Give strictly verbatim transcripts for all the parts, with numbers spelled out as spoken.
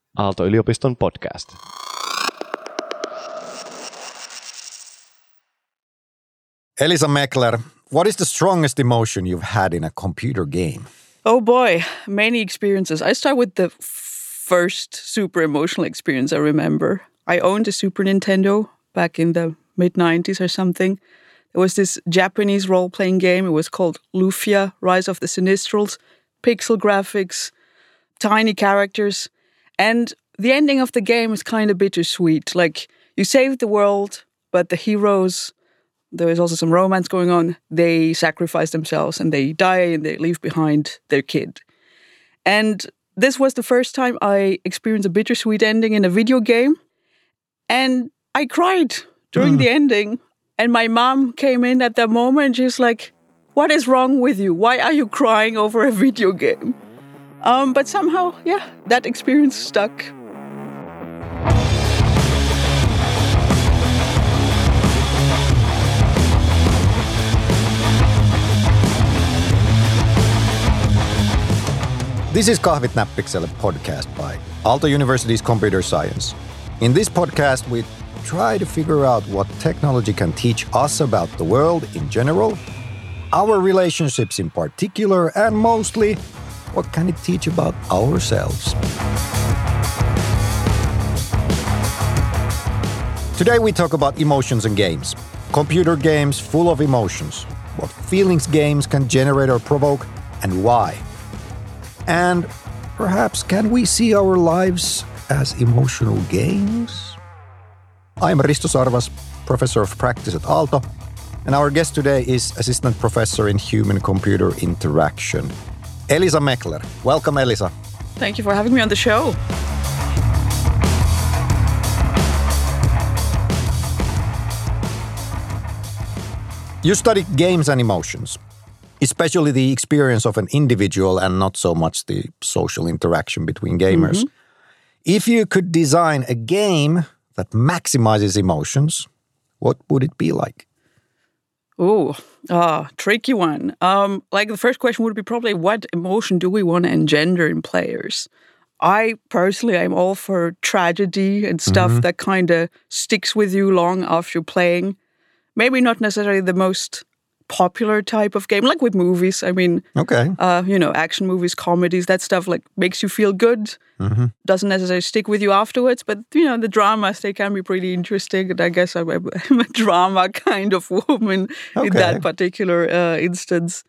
Aalto-yliopiston podcast. Elisa Meckler, what is the strongest emotion you've had in a computer game? Oh boy, many experiences. I start with the first super emotional experience I remember. I owned a Super Nintendo back in the mid nineties or something. There was this Japanese role-playing game. It was called Lufia, Rise of the Sinistrals, pixel graphics, tiny characters. And the ending of the game is kind of bittersweet. Like, you save the world, but the heroes, there is also some romance going on, they sacrifice themselves and they die and they leave behind their kid. And this was the first time I experienced a bittersweet ending in a video game. And I cried during mm. the ending. And my mom came in at that moment. She's like, what is wrong with you? Why are you crying over a video game? Um, but somehow, yeah, that experience stuck. This is Kahvit Näppikselle podcast by Aalto University's Computer Science. In this podcast, we try to figure out what technology can teach us about the world in general, our relationships in particular, and mostly, what can it teach about ourselves? Today we talk about emotions and games. Computer games full of emotions. What feelings games can generate or provoke, and why. And perhaps can we see our lives as emotional games? I'm Risto Sarvas, Professor of Practice at Aalto, and our guest today is Assistant Professor in Human-Computer Interaction, Elisa Meckler. Welcome, Elisa. Thank you for having me on the show. You study games and emotions, especially the experience of an individual and not so much the social interaction between gamers. Mm-hmm. If you could design a game that maximizes emotions, what would it be like? Oh, ah, tricky one. Um, like the first question would be probably, what emotion do we want to engender in players? I personally, I'm all for tragedy and stuff mm-hmm. that kind of sticks with you long after playing. Maybe not necessarily the most popular type of game, like with movies. I mean, okay, uh, you know, action movies, comedies, that stuff like makes you feel good. Mm-hmm. Doesn't necessarily stick with you afterwards, but you know, the dramas, they can be pretty interesting. And I guess I'm a, I'm a drama kind of woman okay. in that particular uh, instance.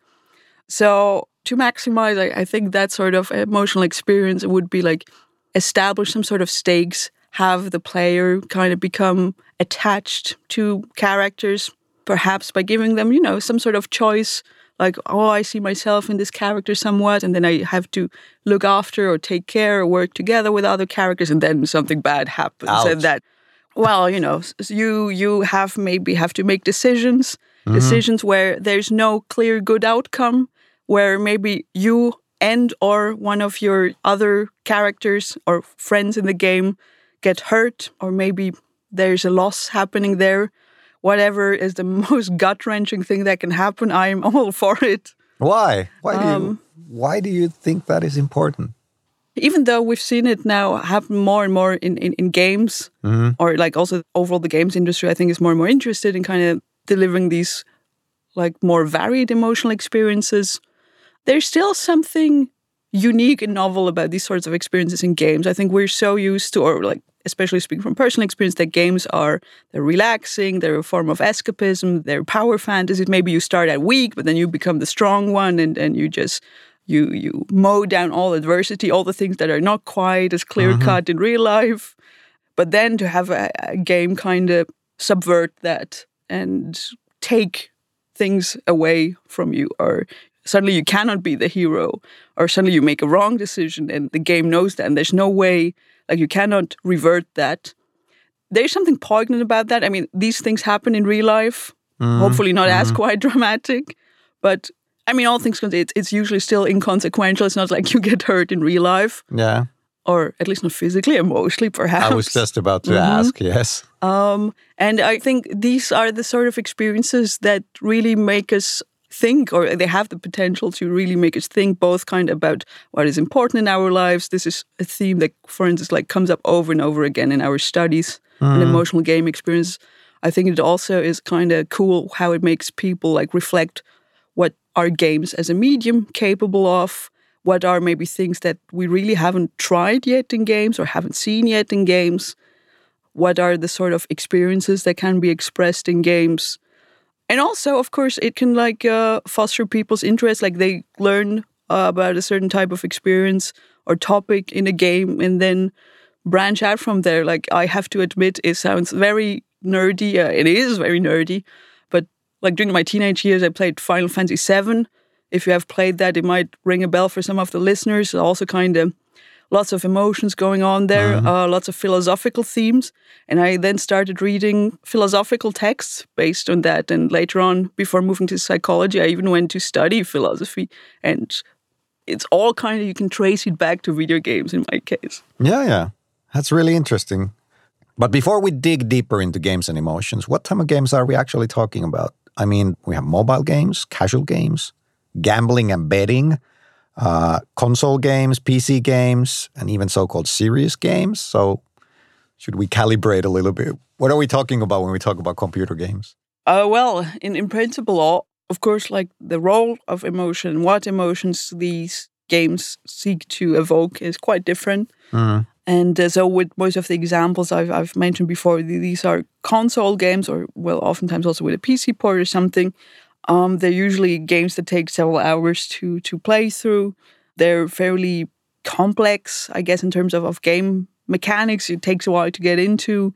So to maximize, I, I think that sort of emotional experience would be like establish some sort of stakes, have the player kind of become attached to characters, perhaps by giving them, you know, some sort of choice, like, oh, I see myself in this character somewhat, and then I have to look after or take care or work together with other characters, and then something bad happens. Ouch. And that, well, you know, you you have maybe have to make decisions, mm-hmm. decisions where there's no clear good outcome, where maybe you and or one of your other characters or friends in the game get hurt, or maybe there's a loss happening there. Whatever is the most gut-wrenching thing that can happen, I'm all for it. Why? Why do um, you, why do you think that is important? Even though we've seen it now happen more and more in, in, in games, mm-hmm. or like also overall the games industry, I think is more and more interested in kind of delivering these like more varied emotional experiences. There's still something unique and novel about these sorts of experiences in games. I think we're so used to, or like, especially speaking from personal experience, that games are, they're relaxing, they're a form of escapism, they're power fantasies. Maybe you start out weak, but then you become the strong one, and, and you just, you you mow down all adversity, all the things that are not quite as clear-cut mm-hmm. in real life. But then to have a, a game kind of subvert that and take things away from you, or suddenly you cannot be the hero, or suddenly you make a wrong decision and the game knows that, and there's no way, like you cannot revert that. There's something poignant about that. I mean, these things happen in real life, mm-hmm. hopefully not mm-hmm. as quite dramatic, but I mean, all things considered, it's, it's usually still inconsequential. It's not like you get hurt in real life. Yeah. Or at least not physically, emotionally, perhaps. I was just about to mm-hmm. ask, yes. Um, and I think these are the sort of experiences that really make us think, or they have the potential to really make us think both kind of about what is important in our lives. This is a theme that, for instance, like comes up over and over again in our studies mm. and emotional game experience. I think it also is kind of cool how it makes people like reflect what are games as a medium capable of, what are maybe things that we really haven't tried yet in games or haven't seen yet in games, what are the sort of experiences that can be expressed in games. And also, of course, it can like uh, foster people's interest, like they learn uh, about a certain type of experience or topic in a game and then branch out from there. Like, I have to admit, it sounds very nerdy. Uh, it is very nerdy. But like during my teenage years, I played Final Fantasy seven. If you have played that, it might ring a bell for some of the listeners. Also kind of lots of emotions going on there, mm-hmm. uh, lots of philosophical themes. And I then started reading philosophical texts based on that. And later on, before moving to psychology, I even went to study philosophy. And it's all kind of, you can trace it back to video games in my case. Yeah, yeah. That's really interesting. But before we dig deeper into games and emotions, what type of games are we actually talking about? I mean, we have mobile games, casual games, gambling and betting, uh, console games, P C games, and even so-called serious games. So should we calibrate a little bit? What are we talking about when we talk about computer games? Uh, well, in, in principle, all, of course, like the role of emotion, what emotions these games seek to evoke is quite different. Mm-hmm. And uh, so with most of the examples I've, I've mentioned before, these are console games or, well, oftentimes also with a P C port or something. Um, they're usually games that take several hours to to play through. They're fairly complex, I guess, in terms of, of game mechanics. It takes a while to get into.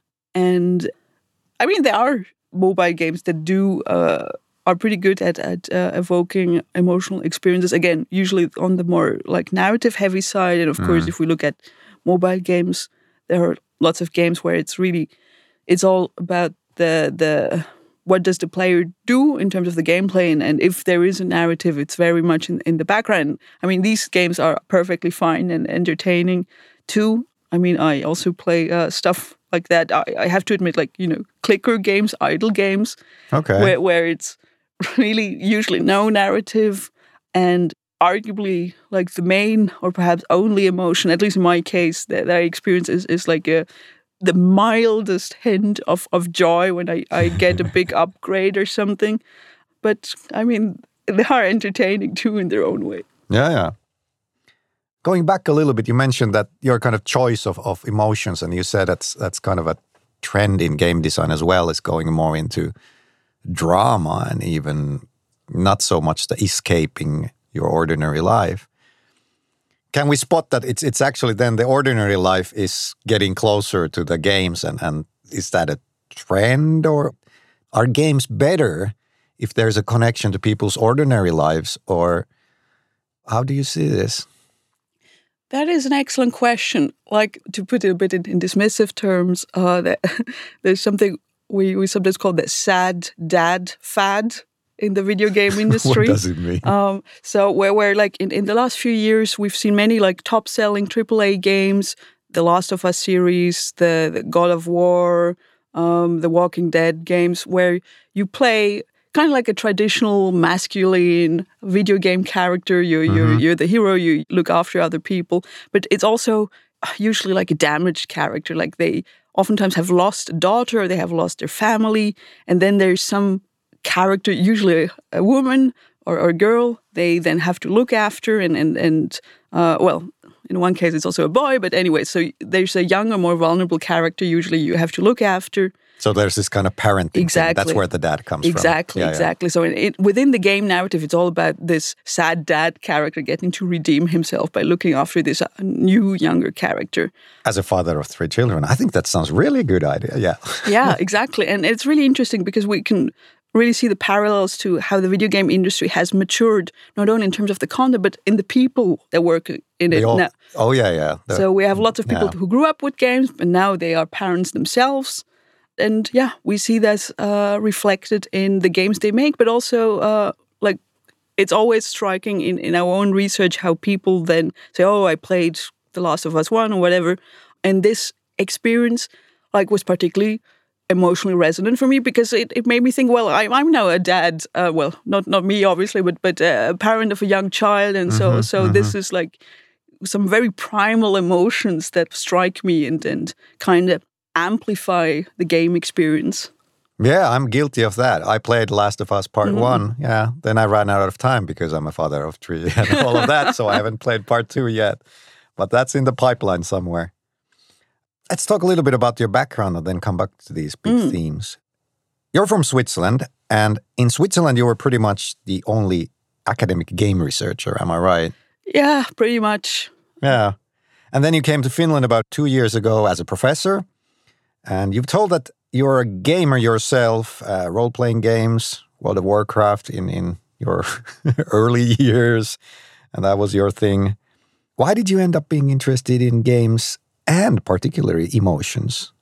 And, I mean, there are mobile games that do... Uh, are pretty good at, at uh, evoking emotional experiences. Again, usually on the more like narrative heavy side. And of mm. course, if we look at mobile games, there are lots of games where it's really, it's all about the, the what does the player do in terms of the gameplay. And, and if there is a narrative, it's very much in, in the background. I mean, these games are perfectly fine and entertaining too. I mean, I also play uh, stuff like that. I, I have to admit, like, you know, clicker games, idle games. Okay. Where, where it's really usually no narrative and arguably like the main or perhaps only emotion, at least in my case, that, that I experience is, is like a, the mildest hint of, of joy when I, I get a big upgrade or something. But I mean, they are entertaining too in their own way. Yeah, yeah. Going back a little bit, you mentioned that your kind of choice of, of emotions, and you said that's that's kind of a trend in game design as well, is going more into drama and even not so much the escaping your ordinary life. Can we spot that it's it's actually then the ordinary life is getting closer to the games, and, and is that a trend, or are games better if there's a connection to people's ordinary lives, or how do you see this? That is an excellent question. Like, to put it a bit in, in dismissive terms, uh, that, there's something we, we sometimes call the sad dad fad in the video game industry. What does it mean? Um, so where, where like in, in the last few years, we've seen many like top-selling triple A games, the Last of Us series, the, the God of War, um, the Walking Dead games, where you play kind of like a traditional masculine video game character. You're, mm-hmm. you're, you're the hero, you look after other people. But it's also usually like a damaged character. Like they oftentimes have lost a daughter, or they have lost their family. And then there's some character, usually a woman or, or a girl, they then have to look after. And, and, and uh, well, in one case, it's also a boy. But anyway, so there's a younger, more vulnerable character usually you have to look after. So there's this kind of parenting exactly. thing. That's where the dad comes exactly, from. Yeah, exactly. Yeah. So in, it, within the game narrative, it's all about this sad dad character getting to redeem himself by looking after this new, younger character. As a father of three children, I think that sounds really a good idea, yeah. Yeah, exactly. And it's really interesting because we can really see the parallels to how the video game industry has matured, not only in terms of the content, but in the people that work in it all, now. Oh, yeah, yeah. The, so we have lots of people yeah. who grew up with games, but now they are parents themselves. And yeah, we see that uh, reflected in the games they make, but also uh, like it's always striking in, in our own research how people then say, oh, I played The Last of Us one or whatever. And this experience like was particularly emotionally resonant for me because it, it made me think, well, I, I'm now a dad, uh, well, not not me, obviously, but but uh, a parent of a young child. And so, mm-hmm, so mm-hmm. this is like some very primal emotions that strike me and, and kind of amplify the game experience. Yeah, I'm guilty of that. I played Last of Us Part Mm-hmm. one. Yeah, then I ran out of time because I'm a father of three and all of that, so I haven't played Part two yet. But that's in the pipeline somewhere. Let's talk a little bit about your background and then come back to these big mm. themes. You're from Switzerland, and in Switzerland you were pretty much the only academic game researcher, am I right? Yeah, pretty much. Yeah. And then you came to Finland about two years ago as a professor, and you've told that you're a gamer yourself, uh, role-playing games, World of Warcraft in, in your early years, and that was your thing. Why did you end up being interested in games and particularly emotions?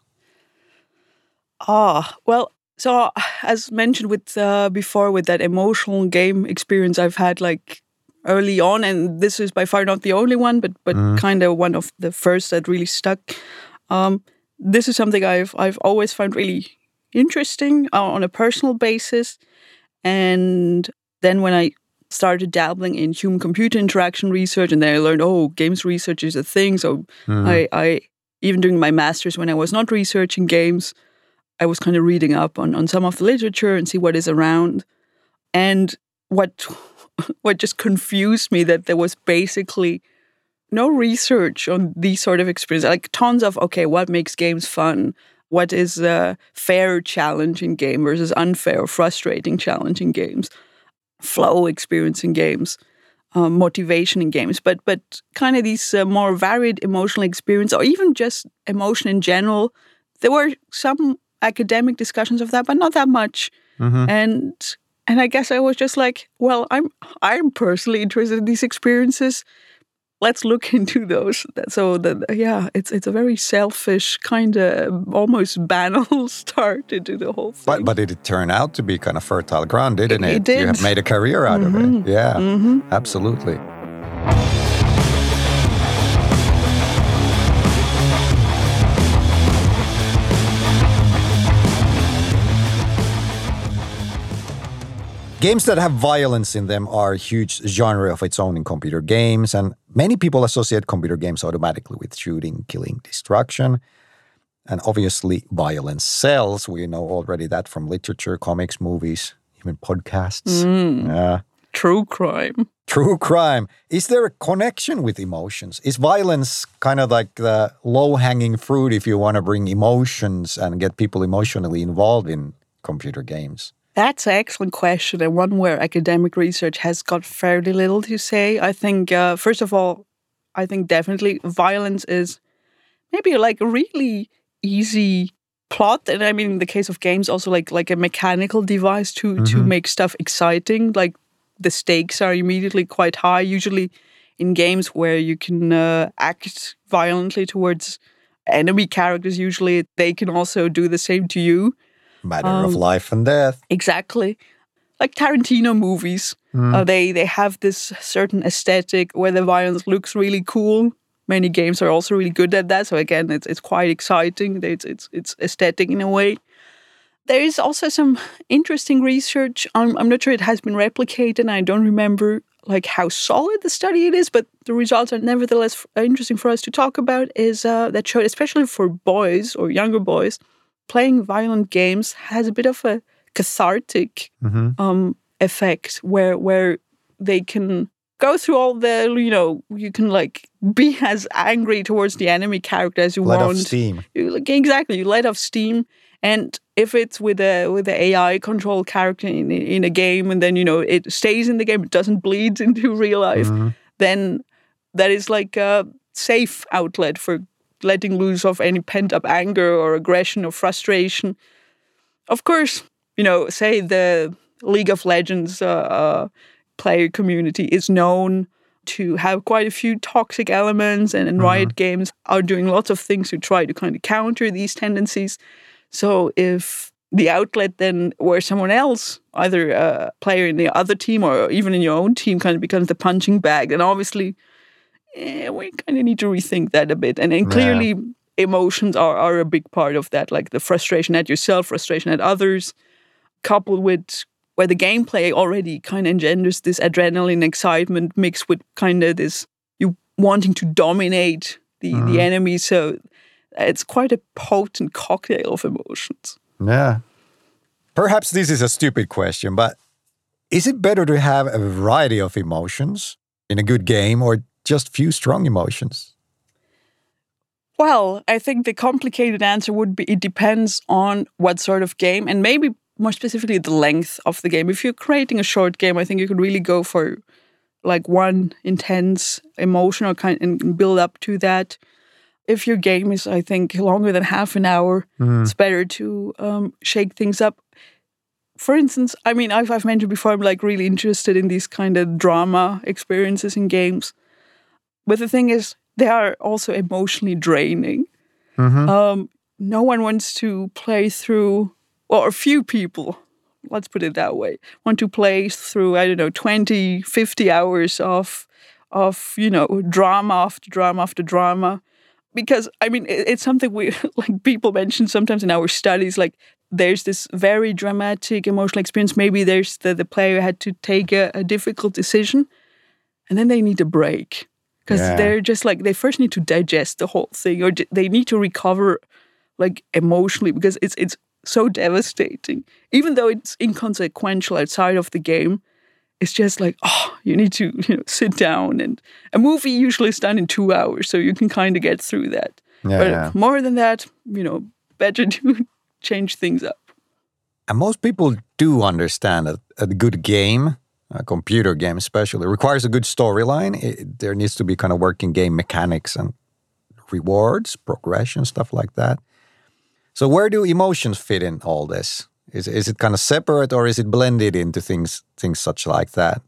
Ah, well, so as mentioned with uh, before, with that emotional game experience I've had like early on, and this is by far not the only one, but but mm. kind of one of the first that really stuck. Um, this is something I've I've always found really interesting uh, on a personal basis, and then when I started dabbling in human-computer interaction research, and then I learned, oh, games research is a thing. So mm. I, I, even during my master's, when I was not researching games, I was kind of reading up on, on some of the literature and see what is around. And what what just confused me that there was basically no research on these sort of experiences. Like tons of, okay, what makes games fun? What is a fair challenge in game versus unfair or frustrating challenge in games? Flow experience in games, um, motivation in games, but but kind of these uh, more varied emotional experience, or even just emotion in general. There were some academic discussions of that, but not that much. Mm-hmm. And and I guess I was just like, well, I'm I'm personally interested in these experiences. Let's look into those. So that yeah, it's it's a very selfish kind of almost banal start into the whole thing. But but did it turn out to be kind of fertile ground, didn't it? It, it did. You have made a career out mm-hmm. of it. Yeah, mm-hmm. absolutely. Games that have violence in them are a huge genre of its own in computer games, and many people associate computer games automatically with shooting, killing, destruction. And obviously, violence sells. We know already that from literature, comics, movies, even podcasts. Mm. Yeah. True crime. True crime. Is there a connection with emotions? Is violence kind of like the low-hanging fruit if you want to bring emotions and get people emotionally involved in computer games? That's an excellent question, and one where academic research has got fairly little to say. I think, uh, first of all, I think definitely violence is maybe like a really easy plot. And I mean, in the case of games, also like like a mechanical device to, mm-hmm. to make stuff exciting. Like the stakes are immediately quite high. Usually in games where you can uh, act violently towards enemy characters, usually they can also do the same to you. Matter um, of life and death. Exactly. Like Tarantino movies. Mm. Uh, they, they have this certain aesthetic where the violence looks really cool. Many games are also really good at that. So again, it's it's quite exciting. It's it's it's aesthetic in a way. There is also some interesting research. I'm, I'm not sure it has been replicated, and I don't remember like how solid the study it is, but the results are nevertheless interesting for us to talk about, is uh, that showed, especially for boys or younger boys, playing violent games has a bit of a cathartic mm-hmm. um, effect where where they can go through all the, you know, you can like be as angry towards the enemy character as you let want. Let off steam. You, like, exactly, you let off steam. And if it's with a with an A I controlled character in in a game, and then, you know, it stays in the game, it doesn't bleed into real life, mm-hmm. then that is like a safe outlet for letting loose of any pent-up anger or aggression or frustration. Of course, you know, say the League of Legends uh, uh, player community is known to have quite a few toxic elements, and, and mm-hmm. Riot Games are doing lots of things to try to kind of counter these tendencies. So if the outlet then where someone else, either a player in the other team or even in your own team, kind of becomes the punching bag, then obviously eh, we kind of need to rethink that a bit. And, and clearly, yeah. emotions are, are a big part of that, like the frustration at yourself, frustration at others, coupled with where the gameplay already kind of engenders this adrenaline excitement mixed with kind of this you wanting to dominate the, mm. the enemy. So it's quite a potent cocktail of emotions. Yeah. Perhaps this is a stupid question, but is it better to have a variety of emotions in a good game or just few strong emotions? Well, I think the complicated answer would be it depends on what sort of game and maybe more specifically the length of the game. If you're creating a short game, I think you could really go for like one intense emotional kind and build up to that. If your game is, I think, longer than half an hour, mm. it's better to um, shake things up. For instance, I mean, I've, I've mentioned before, I'm like really interested in these kind of drama experiences in games. But the thing is, they are also emotionally draining. Mm-hmm. Um, no one wants to play through, or a few people, let's put it that way, want to play through, I don't know, twenty, fifty hours of, of you know, drama after drama after drama. Because, I mean, it, it's something we, like people mention sometimes in our studies, like there's this very dramatic emotional experience. Maybe there's the, the player had to take a, a difficult decision and then they need a break. Because yeah. they're just like, they first need to digest the whole thing or they need to recover like emotionally because it's it's so devastating. Even though it's inconsequential outside of the game, it's just like, oh, you need to you know sit down. And a movie usually is done in two hours, so you can kind of get through that. Yeah, but yeah. more than that, you know, better to change things up. And most people do understand that a good game, a computer game especially, requires a good storyline. It, there needs to be kind of working game mechanics and rewards, progression, stuff like that. So where do emotions fit in all this? Is is it kind of separate or is it blended into things things such like that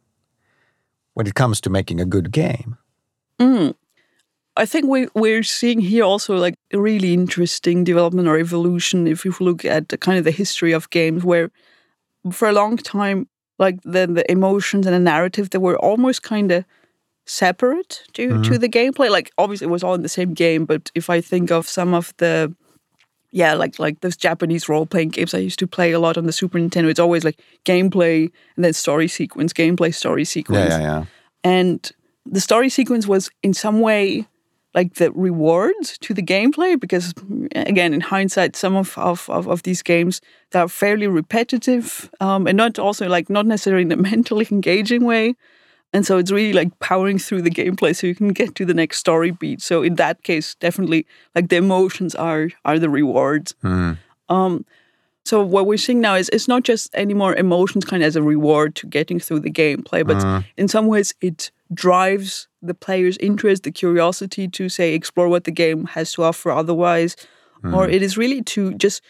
when it comes to making a good game? Mm. I think we, we're seeing here also like a really interesting development or evolution if you look at the kind of the history of games where for a long time, like the, the emotions and the narrative, they were almost kind of separate to, mm-hmm. to the gameplay. Like obviously it was all in the same game, but if I think of some of the Yeah, like like those Japanese role-playing games I used to play a lot on the Super Nintendo. It's always like gameplay and then story sequence, gameplay, story sequence. Yeah, yeah, yeah. And the story sequence was in some way like the reward to the gameplay because, again, in hindsight, some of, of, of, of these games, they are fairly repetitive um, and not also like not necessarily in a mentally engaging way. And so it's really like powering through the gameplay so you can get to the next story beat. So in that case, definitely like the emotions are are the rewards. Mm. Um, so what we're seeing now is it's not just anymore emotions kind of as a reward to getting through the gameplay, but mm. in some ways it drives the player's interest, the curiosity to say explore what the game has to offer otherwise. Mm. Or it is really to just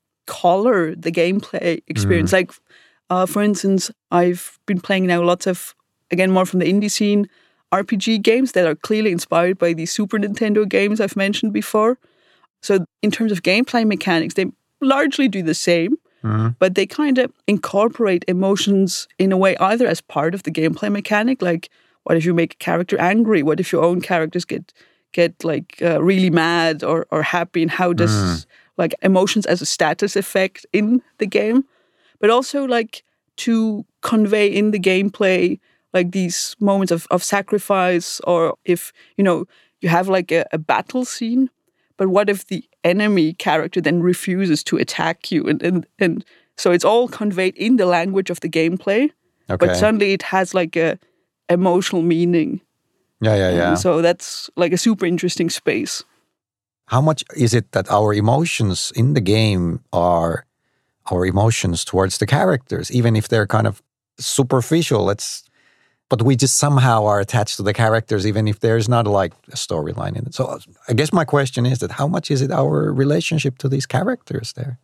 color the gameplay experience. Mm. Like, uh, for instance, I've been playing now lots of again, more from the indie scene, R P G games that are clearly inspired by the Super Nintendo games I've mentioned before. So in terms of gameplay mechanics, they largely do the same, mm-hmm. but they kind of incorporate emotions in a way either as part of the gameplay mechanic, like what if you make a character angry? What if your own characters get get like uh, really mad or, or happy? And how does mm. like emotions as a status effect in the game? But also like to convey in the gameplay like these moments of, of sacrifice, or if, you know, you have like a, a battle scene, but what if the enemy character then refuses to attack you? And and, and so it's all conveyed in the language of the gameplay, okay. but suddenly it has like a emotional meaning. Yeah, yeah, yeah. And so that's like a super interesting space. How much is it that our emotions in the game are our emotions towards the characters, even if they're kind of superficial? Let's, but we just somehow are attached to the characters, even if there's not like a storyline in it. So I guess my question is that how much is it our relationship to these characters there?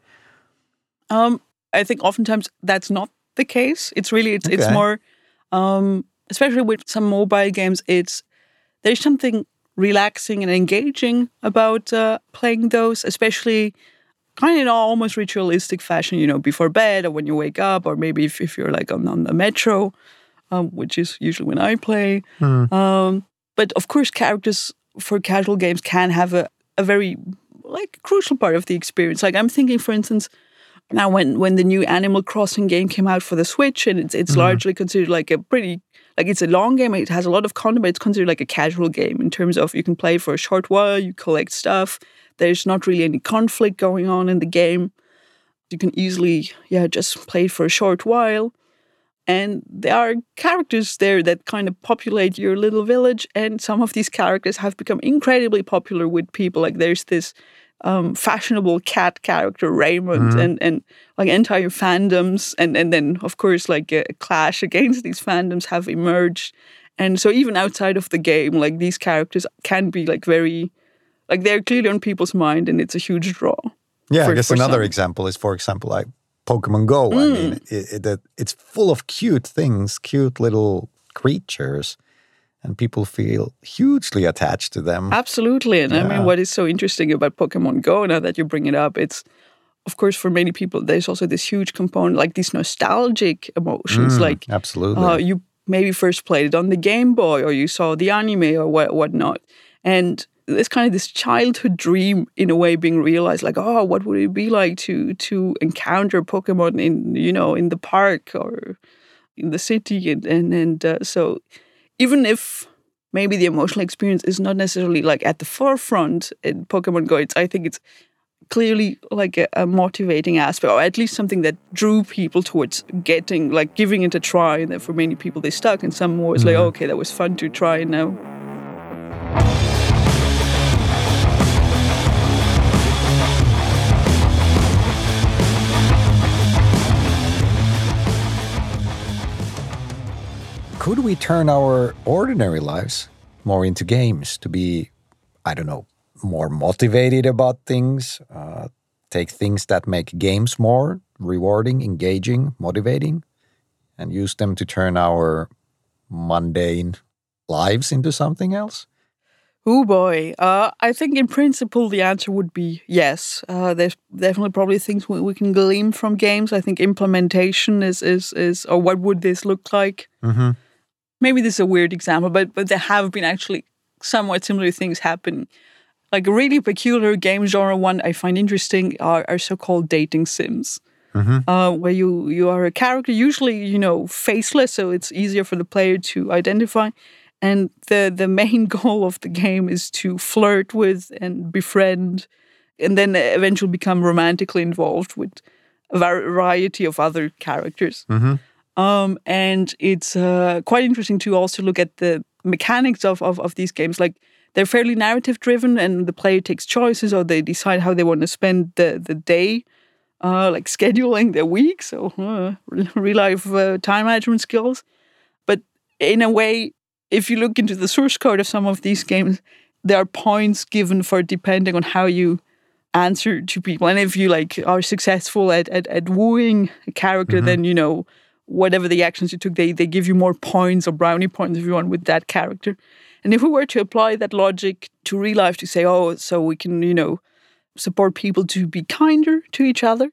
Um, I think oftentimes that's not the case. It's really, it's, okay. it's more, um, especially with some mobile games, it's, there's something relaxing and engaging about uh, playing those, especially kind of in almost ritualistic fashion, you know, before bed or when you wake up, or maybe if, if you're like on, on the metro, um, which is usually when I play. Mm. Um, but of course, characters for casual games can have a, a very like a crucial part of the experience. Like I'm thinking, for instance, now when, when the new Animal Crossing game came out for the Switch, and it's, it's mm. largely considered like a pretty, like it's a long game, it has a lot of content, but it's considered like a casual game in terms of you can play for a short while, you collect stuff, there's not really any conflict going on in the game. You can easily, yeah, just play it for a short while. And there are characters there that kind of populate your little village, and some of these characters have become incredibly popular with people. Like there's this um, fashionable cat character, Raymond, mm-hmm. and, and like entire fandoms, and, and then of course like a clash against these fandoms have emerged. And so even outside of the game, like these characters can be like very, like they're clearly on people's mind, and it's a huge draw. Yeah, for, I guess for another some. example is, for example, like Pokemon Go. Mm. I mean, it, it, it's full of cute things, cute little creatures, and people feel hugely attached to them. Absolutely. And yeah. I mean, what is so interesting about Pokemon Go, now that you bring it up, it's, of course, for many people, there's also this huge component, like these nostalgic emotions. Mm, like, absolutely. Uh, you maybe first played it on the Game Boy, or you saw the anime or what whatnot. And there's kind of this childhood dream in a way being realized, like, oh, what would it be like to to encounter Pokemon in, you know, in the park or in the city? And, and, and uh, so even if maybe the emotional experience is not necessarily like at the forefront in Pokemon Go, it's, I think it's clearly like a, a motivating aspect, or at least something that drew people towards getting, like giving it a try. And then for many people, they stuck, and some was mm-hmm. like, oh, okay, that was fun to try now. Could we turn our ordinary lives more into games to be, I don't know, more motivated about things, uh, take things that make games more rewarding, engaging, motivating, and use them to turn our mundane lives into something else? Oh boy. Uh, I think in principle the answer would be yes. Uh, there's definitely probably things we, we can glean from games. I think implementation is, is, is or what would this look like? Mm-hmm. Maybe this is a weird example, but but there have been actually somewhat similar things happen. Like a really peculiar game genre one I find interesting are, are so-called dating sims, mm-hmm. uh, where you, you are a character, usually, you know, faceless, so it's easier for the player to identify. And the, the main goal of the game is to flirt with and befriend, and then eventually become romantically involved with a variety of other characters. Mm-hmm. Um, and it's uh, quite interesting to also look at the mechanics of, of, of these games. Like, they're fairly narrative-driven, and the player takes choices, or they decide how they want to spend the, the day, uh, like scheduling their week, so uh, real-life uh, time management skills. But in a way, if you look into the source code of some of these games, there are points given for depending on how you answer to people. And if you like are successful at, at, at wooing a character, mm-hmm. then, you know, whatever the actions you took, they, they give you more points or brownie points if you want with that character. And if we were to apply that logic to real life to say, oh, so we can, you know, support people to be kinder to each other,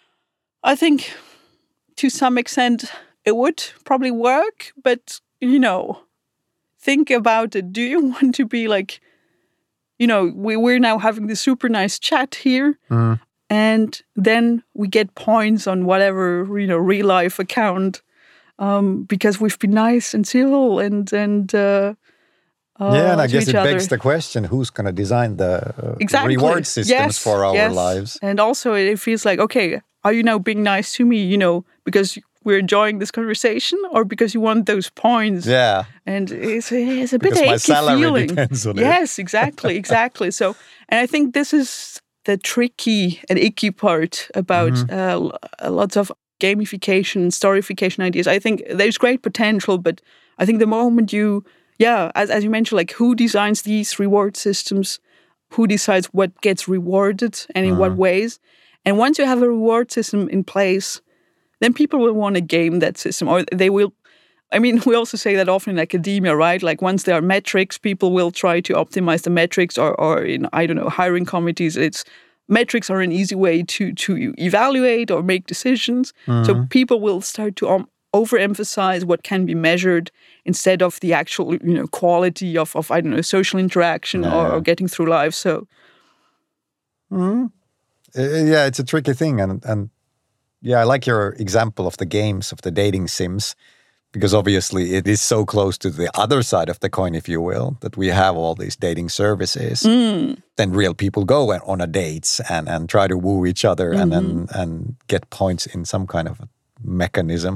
I think to some extent it would probably work. But, you know, think about it. Do you want to be like, you know, we, we're now having this super nice chat here. Mm. And then we get points on whatever, you know, real life account um, because we've been nice and civil and and uh, uh, yeah, and I guess it other. begs the question: who's going to design the uh, exactly. reward systems yes, for our yes. lives? And also, it feels like, okay, are you now being nice to me? You know, because we're enjoying this conversation, or because you want those points? Yeah, and it's it's a bit because achy my salary feeling. Depends on yes, it. exactly, exactly. So, and I think this is the tricky and icky part about mm-hmm. uh, lots of gamification, storification ideas. I think there's great potential, but I think the moment you, yeah, as as you mentioned, like who designs these reward systems, who decides what gets rewarded and in mm-hmm. what ways, and once you have a reward system in place, then people will want to game that system, or they will. I mean, we also say that often in academia, right? Like once there are metrics, people will try to optimize the metrics, or, or in, I don't know, hiring committees, it's metrics are an easy way to to evaluate or make decisions. Mm-hmm. So people will start to um, overemphasize what can be measured instead of the actual, you know, quality of, of I don't know, social interaction yeah. or, or getting through life. So Mm-hmm. Uh, yeah, it's a tricky thing. And, and yeah, I like your example of the games, of the dating sims, because obviously it is so close to the other side of the coin, if you will, that we have all these dating services. Mm. Then real people go on a dates and, and try to woo each other mm-hmm. and, and and get points in some kind of mechanism.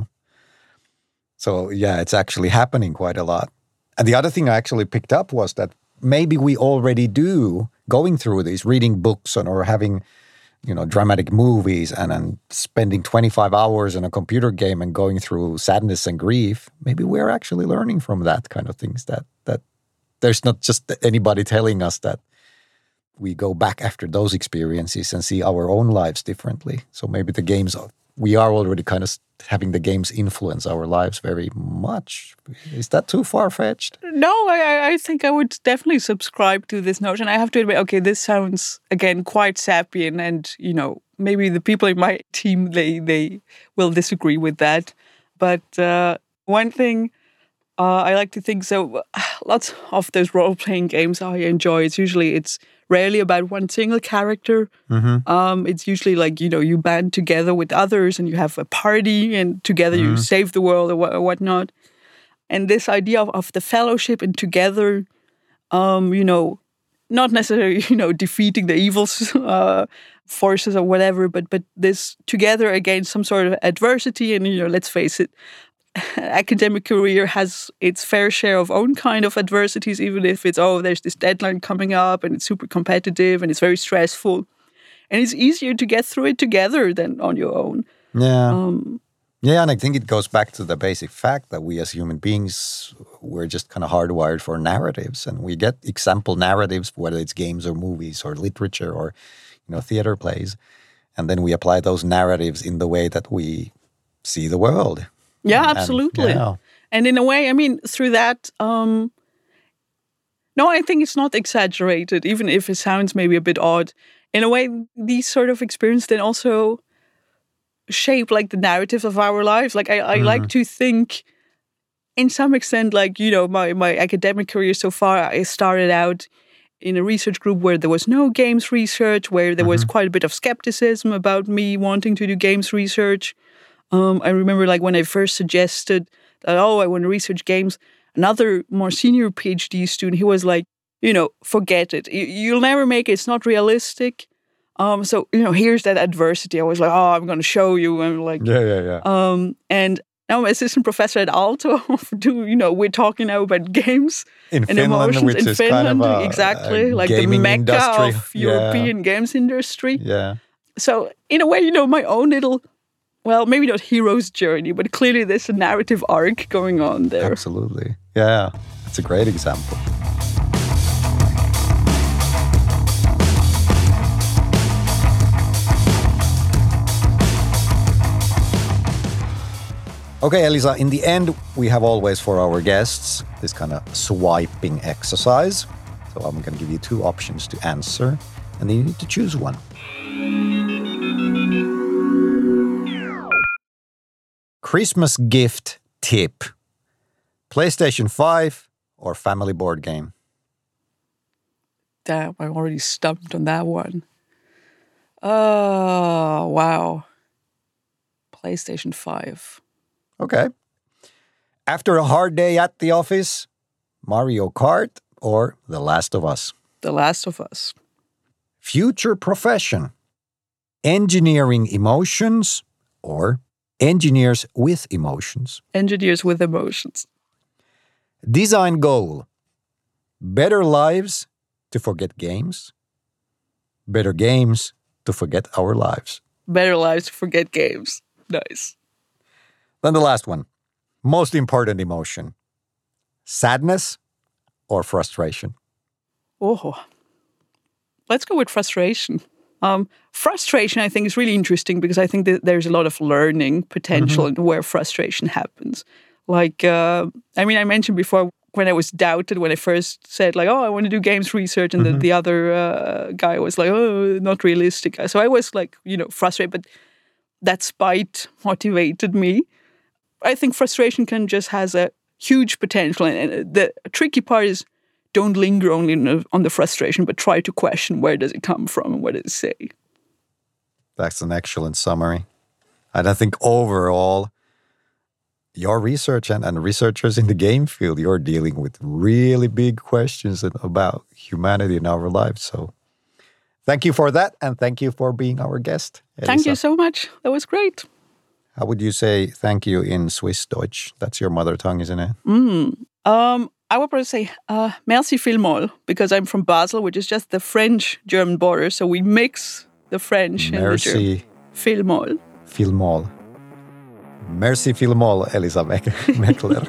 So yeah, it's actually happening quite a lot. And the other thing I actually picked up was that maybe we already do going through these, reading books and, or having, you know, dramatic movies and, and spending twenty-five hours in a computer game and going through sadness and grief. Maybe we're actually learning from that kind of things, that that there's not just anybody telling us that we go back after those experiences and see our own lives differently. So maybe the games, we are already kind of having the games influence our lives very much. Is that too far-fetched? No, I, I think I would definitely subscribe to this notion. I have to admit, okay, this sounds, again, quite sapient, and, you know, maybe the people in my team, they, they will disagree with that. But uh, one thing uh, I like to think, so lots of those role-playing games I enjoy, it's usually, it's rarely about one single character. Mm-hmm. Um, it's usually like, you know, you band together with others and you have a party and together mm-hmm. you save the world or, wh- or whatnot. And this idea of, of the fellowship and together, um, you know, not necessarily, you know, defeating the evil uh, forces or whatever, but but this together against some sort of adversity. And, you know, let's face it, academic career has its fair share of own kind of adversities, even if it's, oh, there's this deadline coming up and it's super competitive and it's very stressful. And it's easier to get through it together than on your own. Yeah. Um, yeah, and I think it goes back to the basic fact that we as human beings, we're just kind of hardwired for narratives. And we get example narratives, whether it's games or movies or literature or, you know, theater plays. And then we apply those narratives in the way that we see the world. Yeah, absolutely. And, yeah. and in a way, I mean, through that, um, no, I think it's not exaggerated, even if it sounds maybe a bit odd. In a way, these sort of experiences then also shape like the narratives of our lives. Like I, I mm. like to think, in some extent, like, you know, my, my academic career so far, I started out in a research group where there was no games research, where there mm-hmm. was quite a bit of skepticism about me wanting to do games research. Um, I remember, like, when I first suggested that, oh, I want to research games, another more senior PhD student, he was like, you know, forget it. You, you'll never make it. It's not realistic. Um, so, you know, here's that adversity. I was like, oh, I'm going to show you. And like, yeah, yeah, yeah. Um, and now I'm assistant professor at Aalto. do you know, we're talking now about games in and Finland, emotions which in is Finland. Kind of a, exactly, a like the mecca industry. of European yeah. games industry. Yeah. So, in a way, you know, my own little. Well, maybe not hero's journey, but clearly there's a narrative arc going on there. Absolutely. Yeah, that's a great example. Okay, Elisa, in the end, we have always for our guests this kind of swiping exercise. So I'm going to give you two options to answer, and then you need to choose one. Christmas gift tip. PlayStation five or family board game? Damn, I'm already stumped on that one. Oh, wow. PlayStation five. Okay. After a hard day at the office, Mario Kart or The Last of Us? The Last of Us. Future profession. Engineering emotions or engineers with emotions? Engineers with emotions. Design goal. Better lives to forget games. Better games to forget our lives. Better lives to forget games. Nice. Then the last one. Most important emotion. Sadness or frustration? Oh, let's go with frustration. Um, frustration, I think, is really interesting because I think that there's a lot of learning potential mm-hmm. in where frustration happens. Like, uh, I mean, I mentioned before when I was doubted, when I first said, like, oh, I want to do games research, and mm-hmm. the, the other uh, guy was like, oh, not realistic. So I was like, you know, frustrated, but that spite motivated me. I think frustration can just has a huge potential. And the tricky part is don't linger only on the frustration, but try to question where does it come from and what does it say. That's an excellent summary. And I think overall, your research and, and researchers in the game field, you're dealing with really big questions about humanity in our lives. So thank you for that. And thank you for being our guest, Elisa. Thank you so much. That was great. How would you say thank you in Swiss Deutsch? That's your mother tongue, isn't it? Mm. Um, I would probably say uh, merci vielmals, because I'm from Basel, which is just the French-German border. So we mix the French merci and the German. Vielmals. Vielmals. Merci vielmals, Elisa Meckler.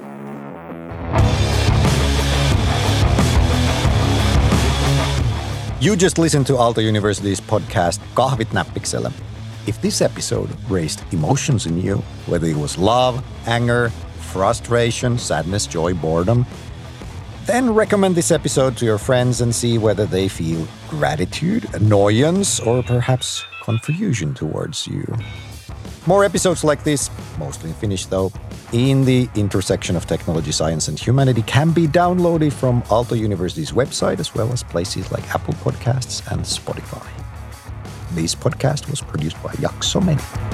You just listened to Aalto University's podcast Kahvit näppiksellä. If this episode raised emotions in you, whether it was love, anger, frustration, sadness, joy, boredom, then recommend this episode to your friends and see whether they feel gratitude, annoyance, or perhaps confusion towards you. More episodes like this, mostly in Finnish though, in the intersection of technology, science, and humanity can be downloaded from Aalto University's website, as well as places like Apple Podcasts and Spotify. This podcast was produced by Jakso Meni.